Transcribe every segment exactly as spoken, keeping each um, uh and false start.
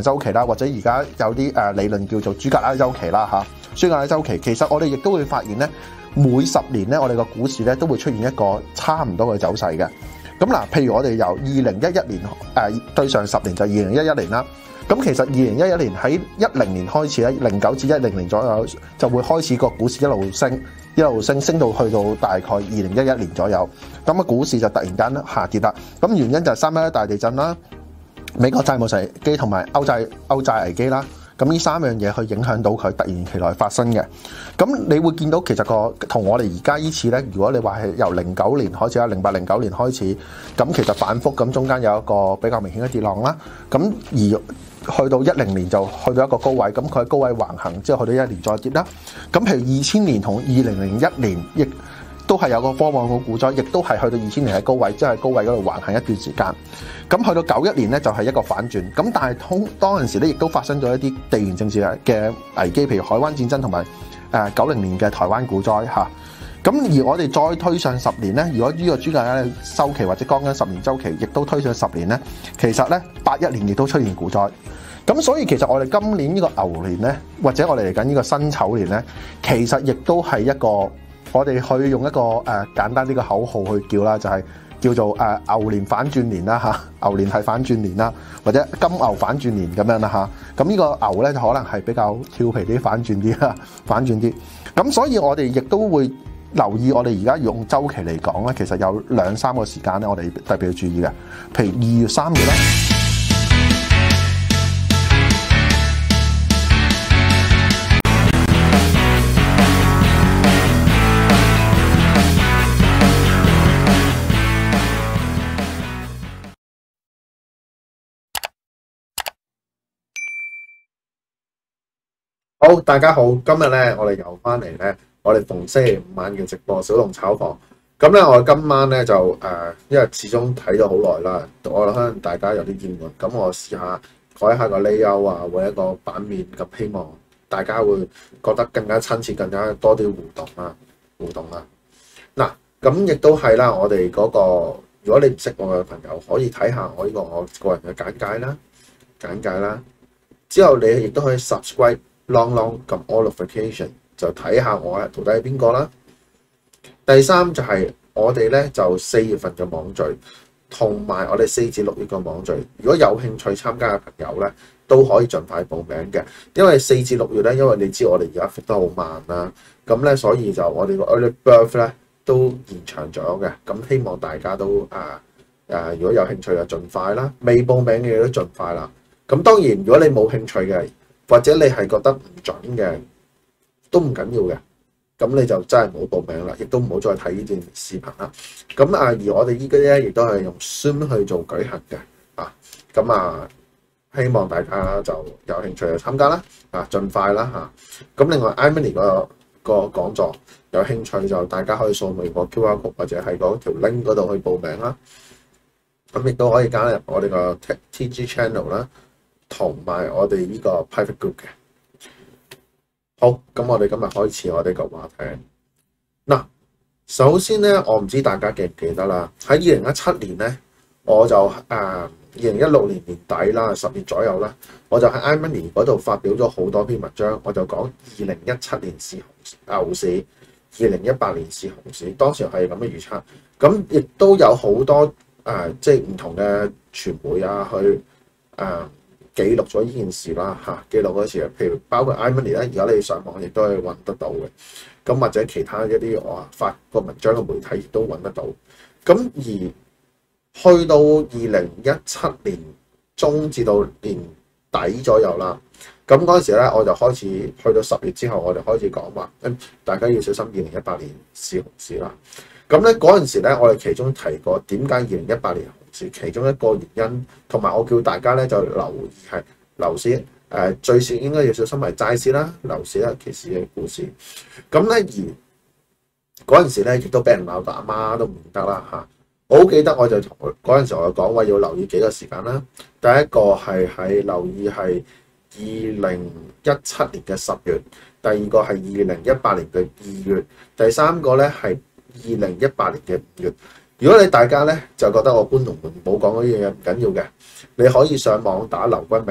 週期啦，或者而家有啲誒理論叫做朱格拉週期啦嚇，朱格拉週期其實我哋亦都會發現咧，每十年咧我哋個股市咧都會出現一個差唔多嘅走勢嘅。咁嗱，譬如我哋由二零一一年誒、呃、對上十年就二零一一年啦。咁其實二零一一年喺一零年開始咧，零九至一零年左右就會開始個股市一路升，一路升，升到去到大概二零一一年左右。咁啊，股市就突然間下跌啦。咁原因就係三一一大地震啦、美國債務危機同埋歐債歐債危機啦。咁呢三樣嘢去影響到佢突然其來發生嘅。咁你會見到其實個同我哋而家依次咧，如果你話係由零九年開始啦，零八零九年開始，咁其實反覆咁中間有一個比較明顯嘅跌浪啦。咁而去到一零年就去到一個高位，咁佢喺高位橫行之後去到一年再跌啦。咁譬如二千年同二零零一年亦都係有個科網股股災，亦都係去到二千年喺高位，即係高位嗰度橫行一段時間。咁去到九一年咧就係一個反轉，咁但係通當陣時咧亦都發生咗一啲地緣政治嘅危機，譬如海灣戰爭同埋誒九零年嘅台灣股災嚇。咁而我哋再推上十年咧，如果呢個朱格拉週期或者剛剛十年週期，亦都推上十年咧，其實咧八一年亦都出現股災。咁所以其實我哋今年呢個牛年咧，或者我哋嚟緊呢個辛丑年咧，其實亦都係一個我哋去用一個誒、呃、簡單啲嘅口號去叫啦，就係、是。叫做誒、呃、牛年反轉年啦嚇，牛年係反轉年啦，或者金牛反轉年咁樣啦嚇。咁呢個牛咧就可能係比較俏皮啲，反轉啲啦，反轉啲。咁所以我哋亦都會留意，我哋而家用週期嚟講咧，其實有兩三個時間咧，我哋特別要注意嘅。譬如二月、三月啦。 好，大家好，今日咧我哋又翻嚟咧，我哋逢星期五晚嘅直播小龍炒房。咁咧我今晚咧就誒、呃，因為始終睇咗好耐啦，我可能大家有啲厭悶，咁我試下改一下個 layout 啊，或者一個版面，咁希望大家會覺得更加親切，更加多啲互動啦，互動啦。嗱，咁亦都係啦，我哋嗰、那個，如果你唔識我嘅朋友，可以睇下我呢個我個人嘅簡介啦，簡介啦，之後你亦都可以 subscribe。Long long 撳 all notification 就睇下我到底係邊個啦。第三就係我哋咧就四月份嘅網聚，同埋我哋四至六月嘅網聚。如果有興趣參加嘅朋友咧，都可以盡快報名嘅。因為四至六月咧，因為你知我哋而家復得好慢啦，咁咧所以就我哋個 early birth 咧都延長咗嘅。咁希望大家都啊啊，如果有興趣就盡快啦，未報名嘅都盡快啦。咁當然如果你冇興趣嘅，或者你係覺得唔準嘅，都唔緊要嘅，咁你就真係冇報名啦，亦都唔好再睇呢段視頻啦。咁啊，而我哋依家咧亦都係用 Zoom 去做舉行嘅，啊，咁啊，希望大家就有興趣去參加啦，啊，盡快啦嚇。咁另外 iMoney 個個講座有興趣就大家可以掃微博 Q R code 或者係嗰條 link 嗰度去報名啦。咁亦都可以加入我哋個 T G channel 啦。同埋我哋呢個 private group 嘅。好，咁我哋今日開始我哋個話題。嗱，首先咧，我唔知大家記唔記得啦，喺二零一七年咧，我就誒二零一六年年底啦，十月左右啦，我就喺 iMoney 嗰度發表咗好多篇文章，我就講二零一七年是牛市，二零一八年是熊市，當時係咁嘅預測。咁亦都有好多誒、呃，即係唔同嘅傳媒啊，去誒。呃記錄咗呢件事啦嚇，記錄嗰時，譬如包括 iMoney 咧，而家你上網亦都係揾得到嘅。咁或者其他一啲我發個文章嘅媒體亦都揾得到。咁而去到二零一七年中至到年底左右啦，咁嗰陣時咧，我就開始去到十月之後，我就開始講話，誒大家要小心二零一八年是熊市啦。咁咧嗰陣時咧，我哋其中提過點解二零一八年熊市，其中一個原因，同埋我叫大家咧就留意係樓市，誒、呃、最少應該要小心係債市啦、樓市啦、其次嘅股市。咁咧而嗰陣時咧，亦都俾人鬧到阿媽都唔得啦嚇。我好記得我就同嗰陣時我就講話要留意幾個時間啦。第一個係喺留意係二零一七年嘅十月，第二個係二零一八年嘅二月，第三個咧係二零一八年嘅五月。如果你大家咧就覺得我搬龍門冇講嗰啲嘢唔緊要嘅，你可以上網打劉君明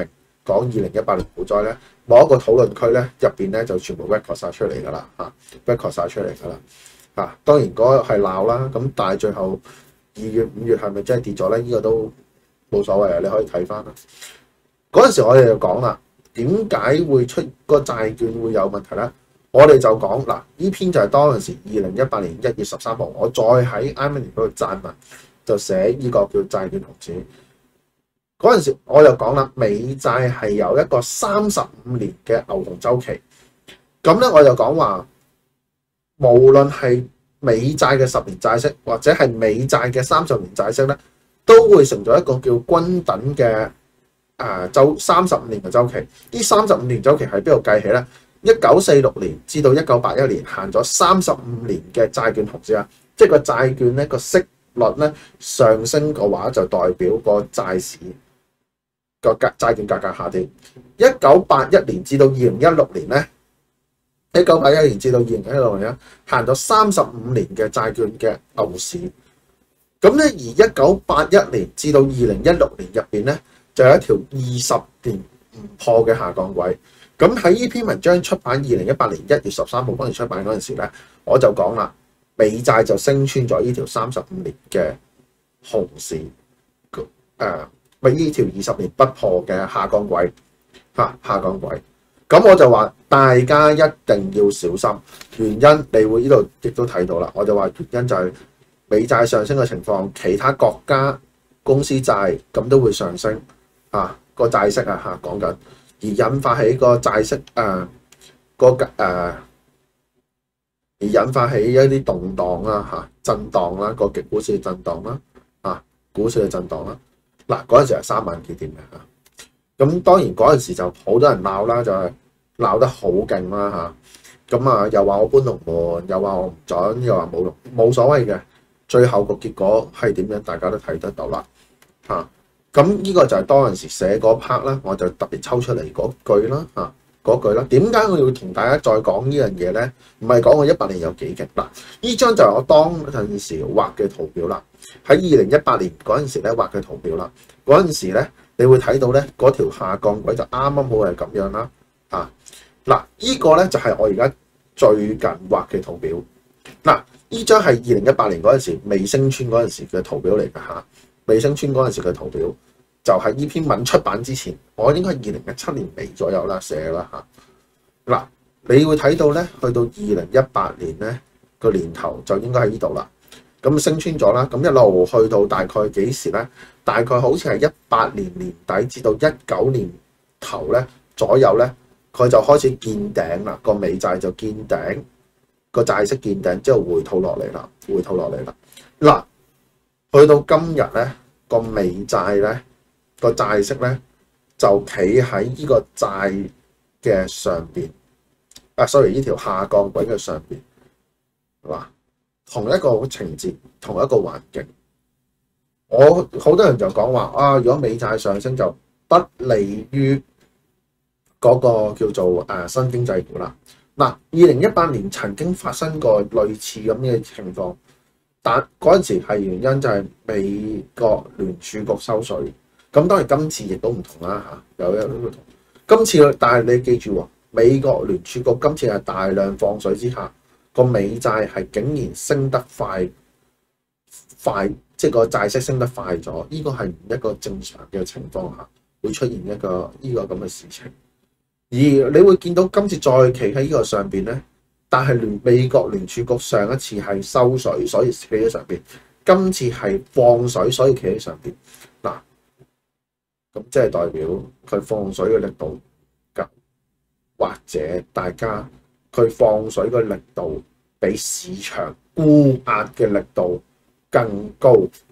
講二零一八年股災咧，某一個討論區咧入邊咧就全部 record 晒出嚟㗎啦嚇 ，record 晒出嚟㗎啦嚇。當然嗰個係鬧啦，咁但係最後二月五月係咪真係跌咗咧？呢、這個都冇所謂啊，你可以睇翻啦。嗰陣時我哋就講啦，點解會出個債券會有問題咧？我哋就講嗱，呢篇就係當陣時二零一八年一月十三號，我再喺 iMoney 嗰度撰文，就寫呢個叫債券熊市。嗰陣時我就講啦，美債係有一個三十五年嘅牛熊週期。咁咧我就講話，無論係美債嘅十年債息，或者係美債嘅三十年債息咧，都會成咗一個叫均等嘅誒週三十五年嘅週期。呢三十五年週期喺邊度計起咧？一九四六年至到一九八一年行咗三十五年嘅債券熊市啊，即係個債券咧個息率咧上升嘅話，就代表個債市個價債券價格下跌。一九八一年至到二零一六年咧，一九八一年至到二零一六年咧行咗三十五年嘅債券嘅牛市。咁咧而一九八一年至到二零一六年入邊咧，就有一條二十年唔破嘅下降軌。咁喺呢篇文章出版二零一八年一月十三號嗰陣出版嗰陣時咧，我就講啦，美債就升穿咗呢條三十五年嘅熊市，誒、呃，咪呢條二十年不破嘅下降軌嚇下降軌。咁我就話大家一定要小心，原因你會呢度亦都睇到啦。我就話原因就係美債上升嘅情況，其他國家公司債咁都會上升啊，個債息啊嚇講緊。而引發起個債息誒、呃、個誒、呃，而引發起一啲動盪啦嚇，震盪啦，個極股市嘅震盪啦，啊股市嘅震盪啦。嗱嗰陣時係三萬幾點嘅嚇，咁當然嗰陣時就好多人鬧啦，就係鬧得好勁啦嚇。咁啊又話我搬龍門，又話我唔準，又話冇龍冇所謂嘅。最後個結果係點樣，大家都睇得到啦嚇。咁呢個就係當陣時寫嗰 part 啦，我就特別抽出嚟嗰句啦嚇，嗰句啦。點解我要同大家再講呢樣嘢咧？唔係講我一百年有幾勁嗱，呢張就係我當陣時畫嘅圖表啦。喺二零一八年嗰陣時咧畫嘅圖表啦，嗰陣時咧你會睇到咧嗰條下降軌就啱啱好係咁樣啦啊嗱，呢個咧就係我而家最近畫嘅圖表嗱，呢張係二零一八年嗰陣時未升穿嗰陣時嘅圖表嚟㗎嚇。未升穿嗰陣時嘅圖表，就係呢篇文出版之前，我應該係二零一七年尾左右啦寫啦嚇。嗱，你會睇到咧，去到二零一八年咧個年頭就應該喺呢度啦。咁升穿咗啦，咁一路去到大概幾時咧？大概好似係一八年年底至到一九年頭咧左右咧，佢就開始見頂啦。個美債就見頂，個債息見頂之後回吐落嚟啦，回吐落嚟啦。嗱。去到今日咧，個美債咧個債息咧就企喺呢個債嘅上邊，啊，sorry，呢條下降軌嘅上邊，係嘛？同一個情節，同一個環境。我好多人就講話啊，如果美債上升就不利於嗰個叫做誒新經濟股啦。嗱，二零一八年曾經發生過類似咁嘅情況。但嗰陣時係原因就係美國聯儲局收水，咁當然今次亦都唔同啦嚇，有一個唔同。今次但係你記住喎，美國聯儲局今次係大量放水之下，個美債係竟然升得快快，即係個債息升得快咗，呢個係唔一個正常嘅情況下會出現一個呢個咁嘅事情。而你會見到今次再企喺呢個上邊咧。但係聯美國聯儲局上一次係收水，所以企喺上邊；今次係放水，所以企喺上邊。嗱，咁即係代表佢放水嘅力度夠，或者大家佢放水嘅力度比市場沽壓嘅力度更高。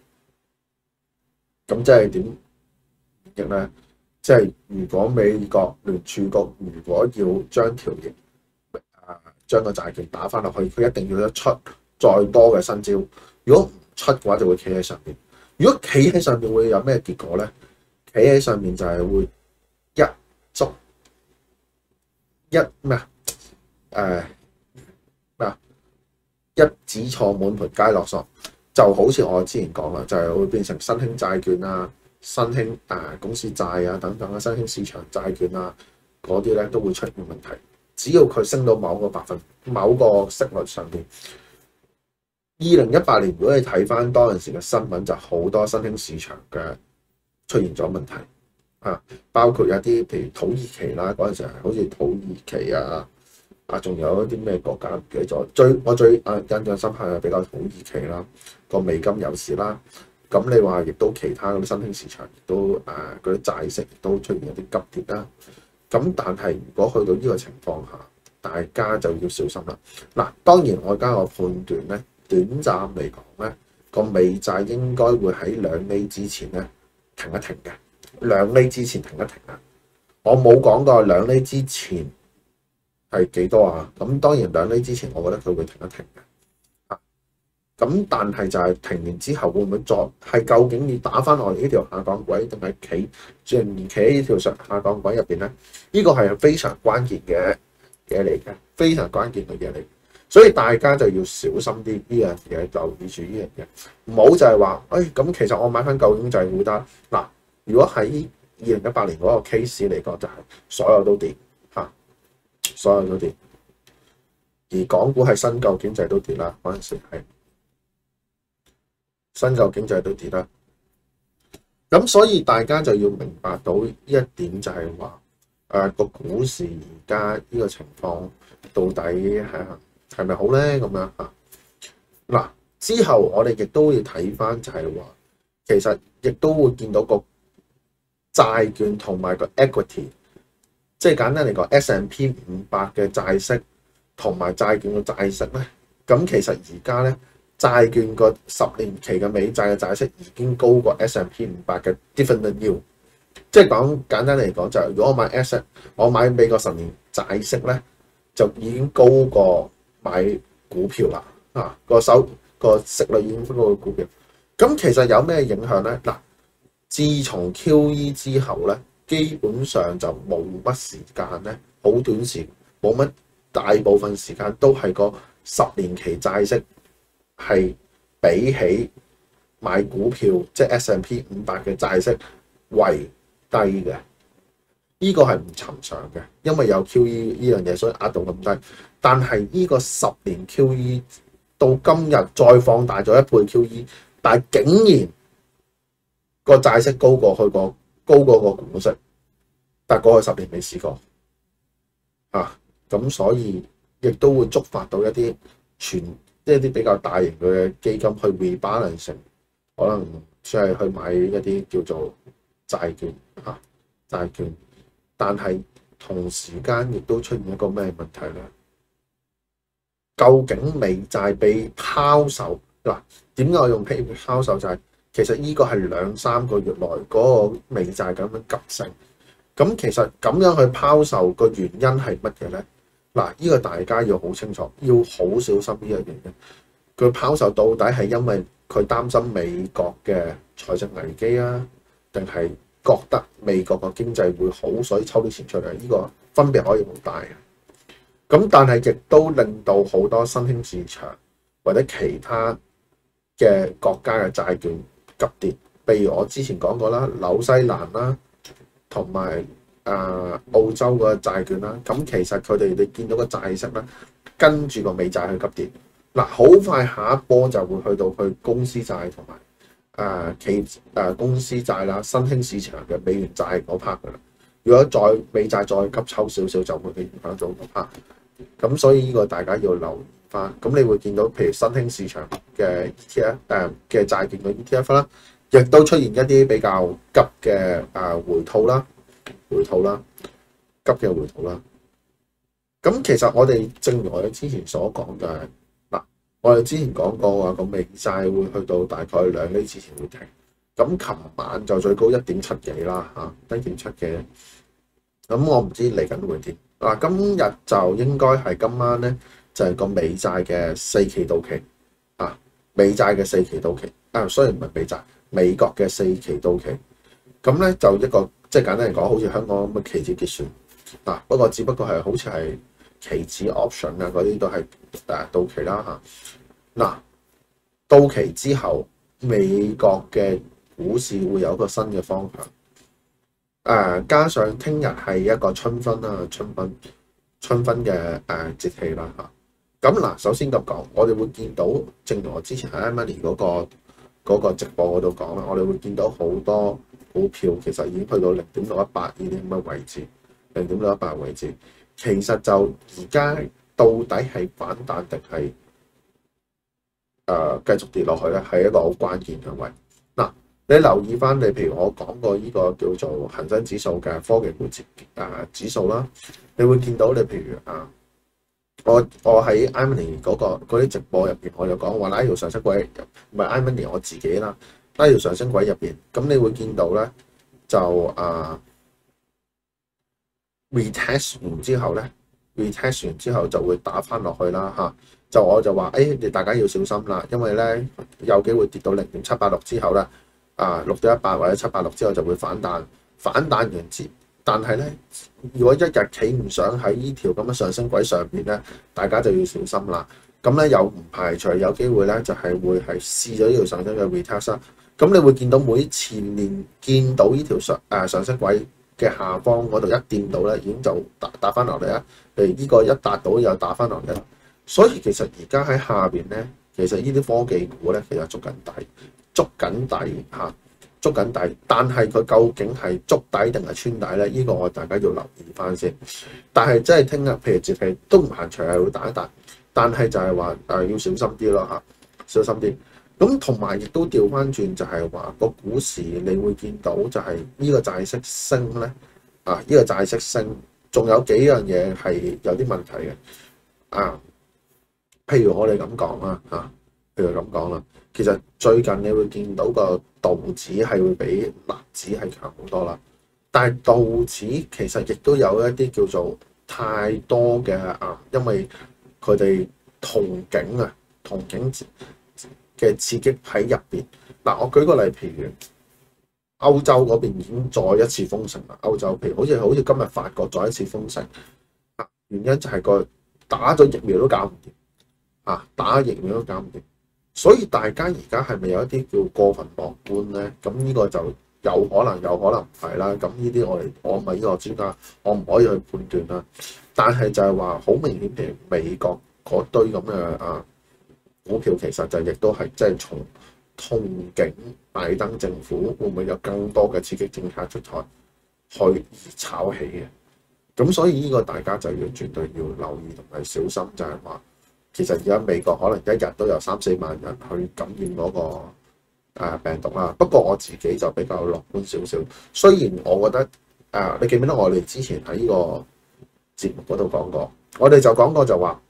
咁即係點亦咧？即係如果美國聯儲局如果要將條型將個債券打翻落去，佢一定要一出再多嘅新招。如果唔出嘅話，就會企喺上邊。如果企喺上邊會有咩結果咧？企喺上面就係會一觸一咩啊？誒咩啊？一子錯滿盤皆落索，就好似我之前講啦，就係會變成新興債券啊、 新興誒、呃、公司債啊等等啊，新興市場債券啊嗰啲咧都會出現問題。只要佢升到某個百分某個息率上邊，二零一八年如果你睇翻當陣時嘅新聞，就好多新興市場嘅出現咗問題啊，包括有啲譬如土耳其啦，嗰陣時係好似土耳其啊。啊，仲有一啲咩國家唔記得咗？最我最啊印象深刻係比較土耳其啦，個美金有事啦。咁你話亦都其他嗰啲新興市場亦都誒嗰啲債息亦都出現一啲急跌啦。咁但係如果去到呢個情況下，大家就要小心啦。嗱，當然我而家個判斷咧，短暫嚟講咧，個美債應該會喺兩厘之前咧停一停嘅。兩厘之前停一停啊！我冇講過兩厘之前係幾多啊？咁當然兩厘之前，我覺得佢會停一停嘅。啊，咁但係就係停完之後會唔會再係究竟要打翻落嚟呢條下降軌，定係企仍然企喺呢條上下降軌入邊咧？呢個係非常關鍵嘅嘢嚟嘅，非常關鍵嘅嘢嚟。所以大家就要小心啲呢樣嘢，留意住呢樣嘢，唔好就係話，誒咁其實我買翻舊經濟會得嗱。如果喺二零一八年嗰個 case 嚟講，就係所有都跌嚇，所有都跌，而港股係新舊經濟都跌啦。嗰陣時係新舊經濟都跌啦。咁所以大家就要明白到呢一點，就係話誒個股市而家呢個情況到底係係咪好咧？咁樣嚇嗱，之後我哋亦都要睇翻，就係話其實亦都會見到個債券同埋個 equity， 即係簡單嚟講 S and P 五百嘅債息同埋債券嘅債息咧，咁其實而家咧債券個十年期嘅美債嘅債息已經高過 S and P 五百嘅 dividend yield， 即係講簡單嚟講就係、是、如果我買 S， 我買美國十年債息咧就已經高過買股票啦，啊個手個息率已經高過股票，咁其實有咩影響咧？嗱。自從 Q E 之後咧，基本上就冇乜時間咧，好短時冇乜大部分時間都係個十年期債息係比起買股票即係 S and P 五百嘅債息為低嘅。呢、這個係唔尋常嘅，因為有 Q E 呢樣嘢，所以壓到咁低。但係呢個十年 Q E 到今日再放大咗一倍 Q E， 但係竟然個債息高過去個高過個股息，但係過去十年未試過啊！咁所以亦都會觸發到一啲全即係一啲比較大型嘅基金去 rebalance， 可能即係去買一啲叫做債券啊債券，但係同時間亦都出現一個咩問題咧？究竟美債被拋售嗱？點解我用被拋售就係、是？其實呢個係兩三個月內嗰個美債咁樣急升，咁其實咁樣去拋售個原因係乜嘢咧？嗱，呢個大家要好清楚，要好小心呢樣嘢。佢拋售到底係因為佢擔心美國嘅財政危機啊，定係覺得美國個經濟會好，所以抽啲錢出嚟？呢個分別可以好大嘅。咁但係亦都令到好多新興市場或者其他嘅國家嘅債券急跌，譬如我之前講過啦，紐西蘭啦，同埋啊澳洲個債券啦，咁其實佢哋你見到個債息咧，跟住個美債去急跌，嗱好快下一波就會去到去公司債同埋啊企啊公司債啦，新興市場嘅美元債嗰 part 噶啦，如果再美債再急抽少少，就會影響到嗰 part，咁所以呢個大家要留意翻，咁你會見到譬如新興市場嘅 E T F 誒嘅債券嘅 E T F 啦，亦都出現一啲比較急嘅誒回吐啦，回吐啦，急嘅回吐啦。咁其實我哋正如我哋之前所講嘅嗱，我哋之前講過話個美債會去到大概兩厘之前會停，咁琴晚就最高一點七幾啦嚇，一點七幾。咁我唔知嚟緊會點嗱，今日就應該係今晚咧。就係個美債嘅四期到期啊，美債嘅四期到期啊，雖然唔係美債，美國嘅四期到期，咁咧就一個即係簡單嚟講，好似香港咁嘅期指結算啊，不過只不過係好似係期指 option 啊嗰啲都係誒到期啦嚇。嗱、啊，到期之後，美國嘅股市會有一個新嘅方向。誒、呃，加上聽日係一個春分啦，春分春分嘅誒、呃、節氣啦嚇。咁嗱，首先咁講，我哋會見到，正如我之前喺 Emily 嗰個嗰個直播嗰度講啦，我哋會見到好多股票其實已經去到零點六一八呢啲咁嘅位置，零點六一八位置，其實就而家到底係反彈定係誒繼續跌落去咧，係一個好關鍵嘅位。嗱，你留意翻，你譬如我講過呢個叫做恒生指數嘅科技股指誒指數啦，你會見到你譬如啊。我我喺 Emily 嗰個嗰啲直播入邊，我就講話拉條上升軌，唔係 Emily 我自己啦，拉條上升軌入邊，咁你會見到咧就啊 retest 完之後咧 retest 完之後就會打翻落去啦嚇，就我就話誒你大家要小心啦，因為咧有機會跌到零點七八六之後咧啊六點一八或者七八六之後就會反彈，反彈完之。但係咧，如果一日企唔上喺呢條咁嘅上升軌上邊咧，大家就要小心啦。咁咧又唔排除有機會咧，就係會係試咗呢條上升嘅 retest 啦。咁你會見到每次連見到呢條上誒上升軌嘅下方嗰度一掂到咧，已經就打打翻落嚟啦。譬如呢個一達到又打翻落嚟啦。所以其實而家喺下邊咧，其實呢啲科技股咧，其實捉緊底，捉緊底嚇。捉緊底，但係佢究竟係捉底定係穿底咧？呢、這個我大家要留意翻先。但係真係聽日，譬如節氣都唔限除係會打一打，但係就係話誒要小心啲咯嚇，小心啲。咁同埋亦都調翻轉，就係話個股市你會見到就係呢個債息升咧啊！呢、這個債息升，仲有幾樣嘢係有啲問題嘅啊。譬如我哋咁講啦嚇，譬如咁講啦。其實最近你會見到個道指係會比納指係強好多啦，但係道指其實亦都有一啲叫做太多嘅啊，因為佢哋憧憬啊，憧憬嘅刺激喺入邊。嗱，我舉個例，譬如歐洲嗰邊已經再一次封城啦。歐洲譬如好似好似今日法國再一次封城，原因就係個打咗疫苗都搞唔掂啊，打疫苗都搞唔掂。所以大家而家係咪有一啲叫過分樂觀咧？咁呢個就有可能，有可能唔係啦。咁呢啲我哋我唔係呢個專家，我唔可以去判斷啦。但係就係話好明顯，譬如美國嗰堆咁嘅啊股票，其實就亦都係即係從憧憬拜登政府會唔會有更多嘅刺激政策出台去而炒起嘅。咁所以呢個大家就要絕對要留意同埋小心，就係話。其實而家美國可能一日都有三四萬人去感染嗰個病毒啦。不過我自己就比較樂觀少少。雖然我覺得誒，你記唔記得我哋之前喺呢個節目嗰度講過，我哋就講過就話，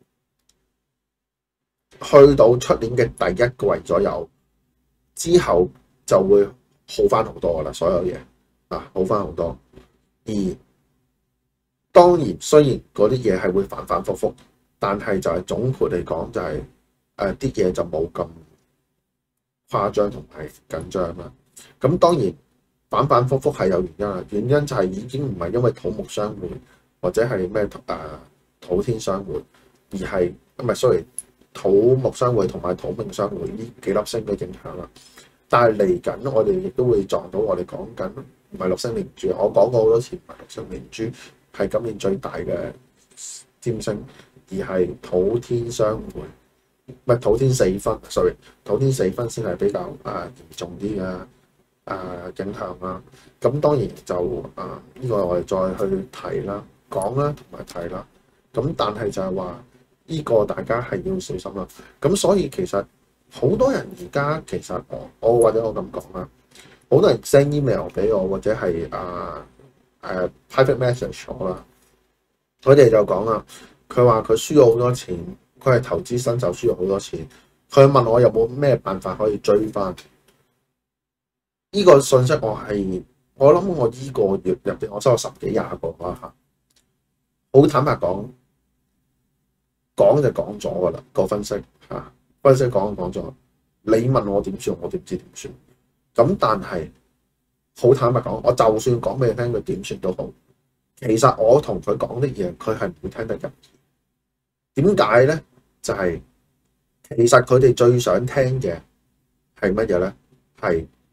去到出年嘅第一季左右之後就會好翻好多噶啦，所有嘢啊好翻好多。而當然雖然嗰啲嘢係會反反覆覆。但係就係總括嚟講，就係誒啲嘢就冇咁誇張同埋緊張啦。咁當然反反覆覆係有原因啦，原因就係已經唔係因為土木相會或者係咩誒土天相會，而係唔係 sorry 土木相會同埋土命相會呢幾粒星嘅影響啦。但係嚟緊我哋亦都會撞到我哋講緊唔係六星連珠，我講過好多次唔係六星連珠，係今年最大嘅占星。而係土天相會，唔係土天四分 ，sorry， 土天四分先係比較啊嚴重啲嘅啊影響啦。咁當然就啊呢、這個我哋再去提啦、講啦同埋提啦。咁但係就係話呢個大家係要小心啦。咁所以其實好多人而家其實我我或者我咁講啦，好多人 send email 俾我或者係啊誒、啊、private message 我啦，佢哋就講啦。佢話佢輸咗好多錢，佢係投資新手輸咗好多錢。佢問我有冇咩辦法可以追翻？呢個信息我係我諗我依個月入邊我收咗十幾廿個啦嚇。好坦白講，講就講咗噶啦個分析嚇，分析講就講咗。你問我點算，我點知點算？咁但係好坦白講，我就算講俾你聽佢點算都好，其實我同佢講啲嘢，佢係唔會聽得入。點解咧？就係、是、其實佢哋最想聽嘅係乜嘢咧？係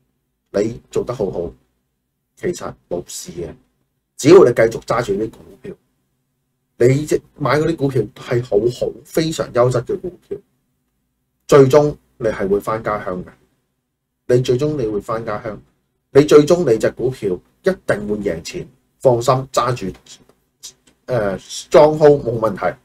你做得好好，其實冇事嘅。只要你繼續揸住啲股票，你即買嗰啲股票係好好、非常優質嘅股票，最終你係會翻家鄉嘅。你最終你會翻家鄉，你最終你隻股票一定會贏錢，放心揸住，誒，strong hold冇問題。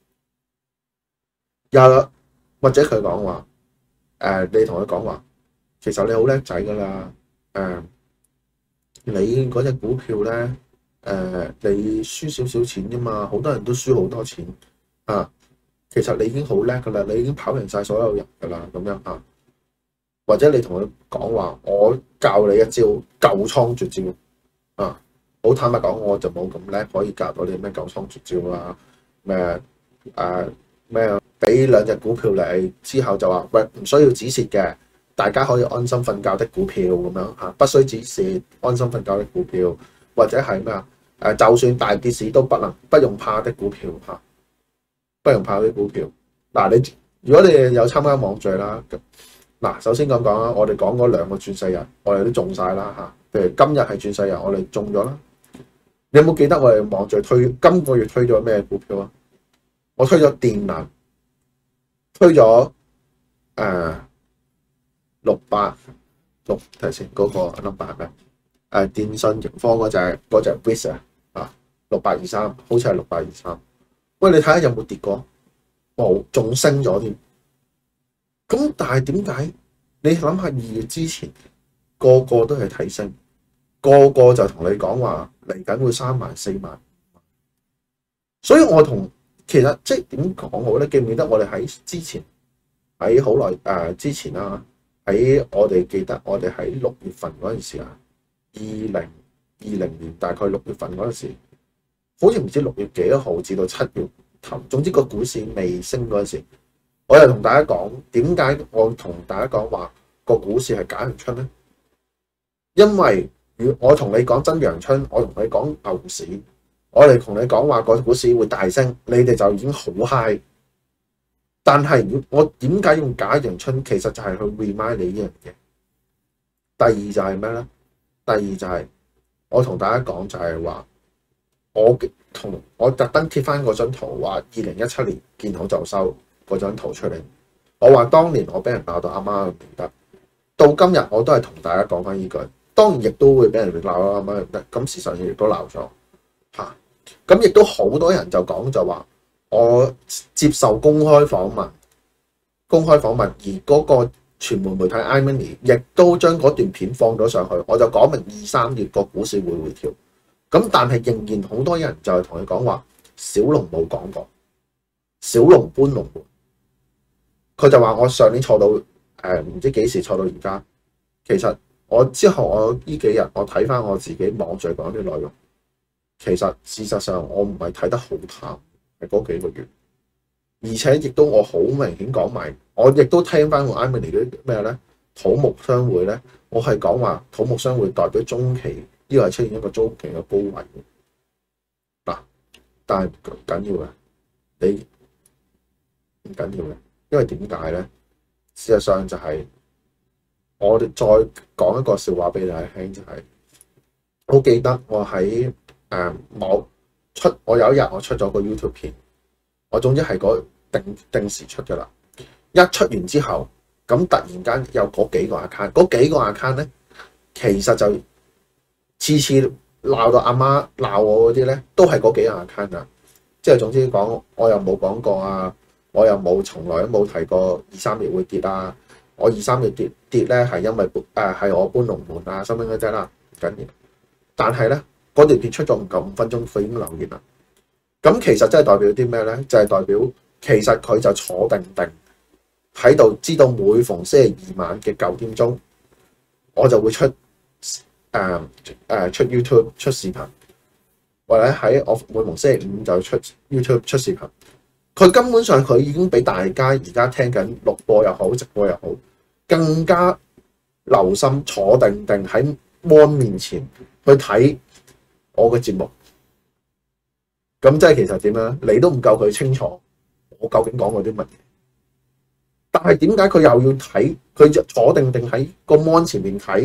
又或者佢講話，誒、呃，你同佢講話，其實你好叻仔噶啦，誒、呃，你嗰隻股票咧，誒、呃，你輸少少錢啫嘛，好多人都輸好多錢啊。其實你已經好叻噶啦，你已經跑贏晒所有人噶啦，咁樣啊。或者你同佢講話，我教你一招救倉絕招啊！好坦白講，我就冇咁叻，可以教到你咩救倉絕招啊？咩誒咩？俾兩隻股票你之後就話喂，唔需要止蝕嘅，大家可以安心瞓覺的股票咁樣嚇，不需止蝕，安心瞓覺的股票，或者係咩啊？誒，就算大跌市都不能不用怕的股票嚇，不用怕啲股票。嗱，你如果你有參加網聚啦。嗱，首先咁講啦，我哋講嗰兩個轉世人，我哋都中晒啦嚇。譬如今日係轉世人，我哋中咗啦。你有冇記得我哋網聚推今個月推咗咩股票啊？我推咗電能，推咗誒六八六睇先嗰個 number 係咩？誒電信盈科嗰隻嗰隻 Visa 啊，六八二三，好似係六八二三。喂，你睇下有冇跌過？冇，仲升咗添。咁但係點解？你諗下二月之前個個都係睇升，個個就同你講話嚟緊會三萬四萬，所以我同其實即係點講好咧？記唔記得我哋喺之前喺好耐誒之前啦，喺我哋記得我哋喺六月份嗰陣時啊，二零二零年大概六月份嗰陣時，好似唔知六月幾多號至到七月頭，總之個股市未升嗰陣時。我又同大家講點解我同大家講話個股市係假陽春咧？因為如我同你講真陽春，我同你講牛市，我哋同你講話個股市會大升，你哋就已經好 high。但係我點解用假陽春？其實就係去 remind 你呢樣嘢。第二就係咩咧？第二就係我同大家講就係話，我同我特登貼翻嗰張圖，話二零一七年見好就收。嗰張圖出嚟，我話當年我俾人鬧到阿媽唔得，到今日我都係同大家講翻呢句，當然亦都會俾人鬧到阿媽唔得，咁事實上亦都鬧咗嚇，咁亦都好多人就講就話我接受公開訪問，公開訪問，而嗰個傳媒媒體 iMoney 亦都將嗰段片放咗上去，我就講明二三月個股市會回調，咁但係仍然好多人就係同佢講話，小龍冇講過，小龍搬龍門。佢就話我上年錯到誒唔知幾時錯到而家，其實我之後我呢幾日我睇翻我自己網聚講啲內容，其實事實上我唔係睇得好淡，係嗰幾個月，而且亦都我好明顯講埋，我亦都聽翻我 iMoney 啲咩咧土木商會咧，我係講話土木商會代表中期呢個係出現一個中期嘅高位嗱，但係唔緊要嘅，你唔緊要嘅。因為點解咧？事實上就係我哋再講一個笑話俾大家聽，就係、是、我記得我喺誒某出，我有一日我出咗個 YouTube 片，我總之係嗰定定時出㗎啦。一出完之後，咁突然間有嗰幾個 account，嗰幾個 account 咧，其實就次次鬧到阿媽鬧我嗰啲咧，都係嗰幾個 account 啊。即係總之講，我又冇講過啊。我又冇，從來都冇提過二三月會跌啊！我二三月跌跌咧，係因為誒係、呃、我搬龍門啊，收尾嗰隻啦，唔緊要。但係咧，嗰條片出咗唔夠五分鐘，佢已經留言啦。咁其實真係代表啲咩咧？就係、是、代表其實佢就坐定定喺度，知道每逢星期二晚嘅九點鐘，我就會出誒誒、呃呃、出 YouTube 出視頻，或者喺我每逢星期五就出 YouTube 出視頻。佢根本上佢已經俾大家而家聽緊錄播又好，直播又好，更加留心坐定定喺 mon 面前去睇我嘅節目。咁即係其實點樣？你都唔夠佢清楚我究竟講過啲乜嘢。但係點解佢又要睇？佢就坐定定喺個 mon 前面睇，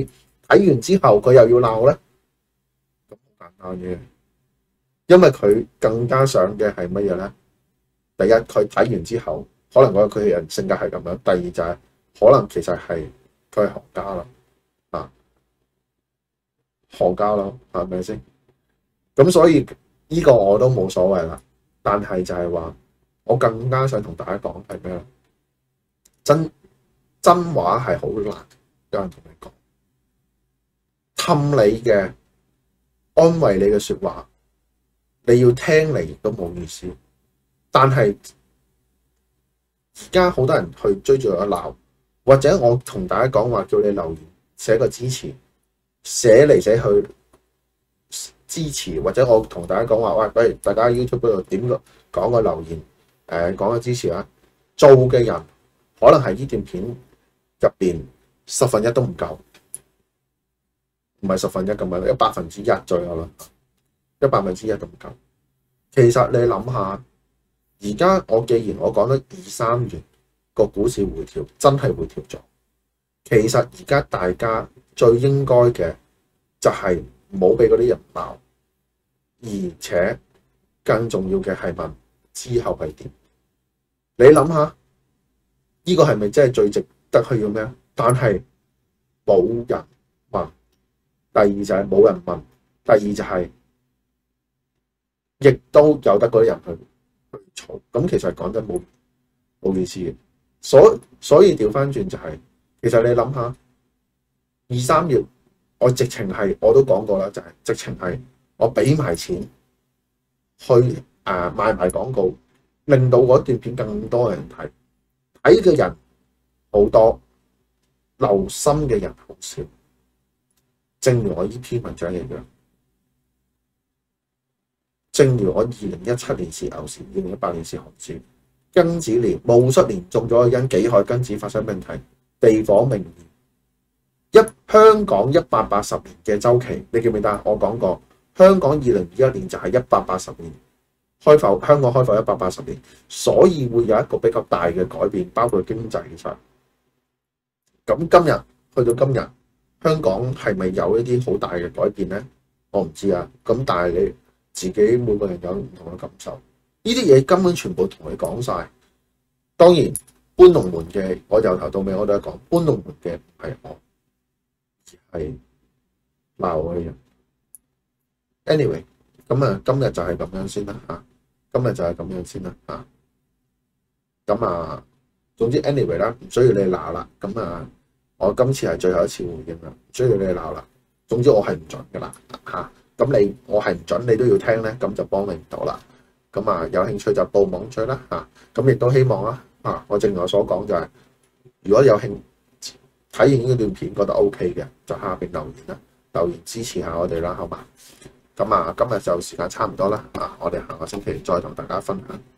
睇完之後佢又要鬧咧？咁好簡單嘅，因為佢更加想嘅係乜嘢咧？第一，佢睇完之後，可能我佢嘅人性格係咁樣；第二就係、是、可能其實係佢係行家啦，啊，行家咯，係咪先？咁所以呢個我都冇所謂啦。但係就係話，我更加想同大家講係咩咧？真真話係好難，有人同你講氹你嘅安慰你嘅説話，你要聽嚟亦都冇意思。但係而家好多人去追住我鬧，或者我同大家講話叫你留言寫個支持，寫嚟寫去支持，或者我同大家講話，喂，不如大家 YouTube 嗰度點個講個留言，誒講個支持啊！做嘅人可能係呢段片入邊十分一都唔夠，唔係十分一咁樣，一百分之一左右啦，一百分之一都唔夠。其實你諗下，而家我既然我講得二三月個股市回調，真係回調咗。其實而家大家最應該嘅就係唔好俾嗰啲人鬧，而且更重要嘅係問之後係點。你諗下，呢個係咪真係最值得去要咩？但係冇人問。第二就係冇人問。第二就係、是、亦都有得嗰啲人去去嘈。咁其實講真冇冇意思嘅。所所以調翻轉就係、是，其實你諗下，二三月我直情係我都講過啦，就係、是、直情係我俾埋錢去誒賣埋廣告，令到嗰段片更多人睇，睇嘅人好多，留心嘅人好少。正如我呢篇文章一樣，正如我二零一七年是牛市，二零一八年是熊市，庚子年戊戌年中咗因己亥庚子發生問題，地火明年，一香港一百八十年嘅周期，你記唔記得？我講過，香港二零二一年就係一百八十年開埠，香港開埠一百八十年，所以會有一個比較大嘅改變，包括經濟上。咁今日去到今日，香港係咪有一啲好大嘅改變呢？我唔知啊。咁但係你自己每個人有唔同嘅感受，呢啲嘢根本全部同你講晒。當然搬龍門嘅，我由頭到尾我都係講搬龍門嘅唔係我，而係鬧我嘅人。Anyway， 咁啊今日就係咁樣先啦嚇，今日就係咁樣先啦嚇。咁啊，總之 anyway 啦，唔需要你鬧啦。咁啊。我今次係最後一次回應啦，唔需要你鬧啦。總之我係唔準噶啦嚇，咁你我係唔準，你都要聽咧，咁就幫你唔到啦。咁啊，有興趣就報網追啦嚇。咁亦都希望啦嚇，我正如我所講就係、是，如果有興睇完呢段片覺得 OK 嘅，就下邊留言啦，留言支持下我哋啦，好嘛？咁啊，今日就時間差唔多啦，啊，我哋下個星期再同大家分享。